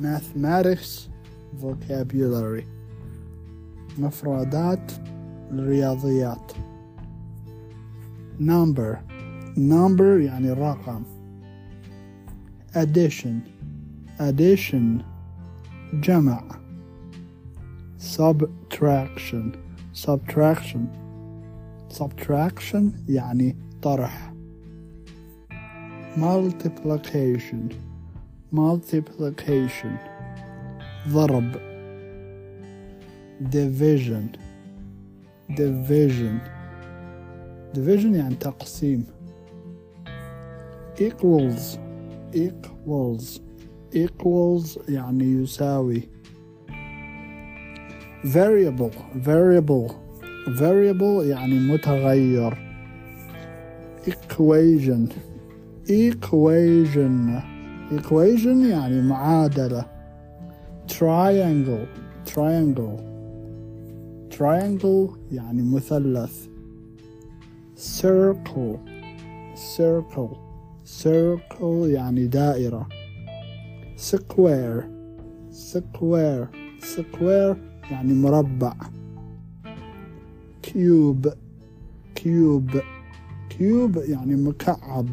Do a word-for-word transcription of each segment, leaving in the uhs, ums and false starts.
mathematics vocabulary مفردات الرياضيات. number number يعني رقم. addition addition جمع. subtraction subtraction subtraction يعني طرح. multiplication multiplication ضرب. division division division يعني تقسيم. equals equals equals يعني يساوي. variable variable variable يعني متغير. equation equation equation يعني معادلة. triangle triangle triangle يعني مثلث. circle circle circle يعني دائرة. square square square يعني مربع. cube cube cube يعني مكعب.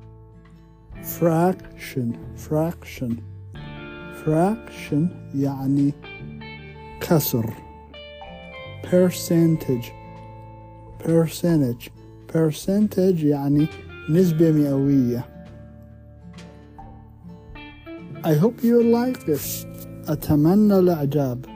fraction fraction fraction يعني كسر. percentage percentage percentage يعني نسبة مئوية. I hope you like this. أتمنى الإعجاب.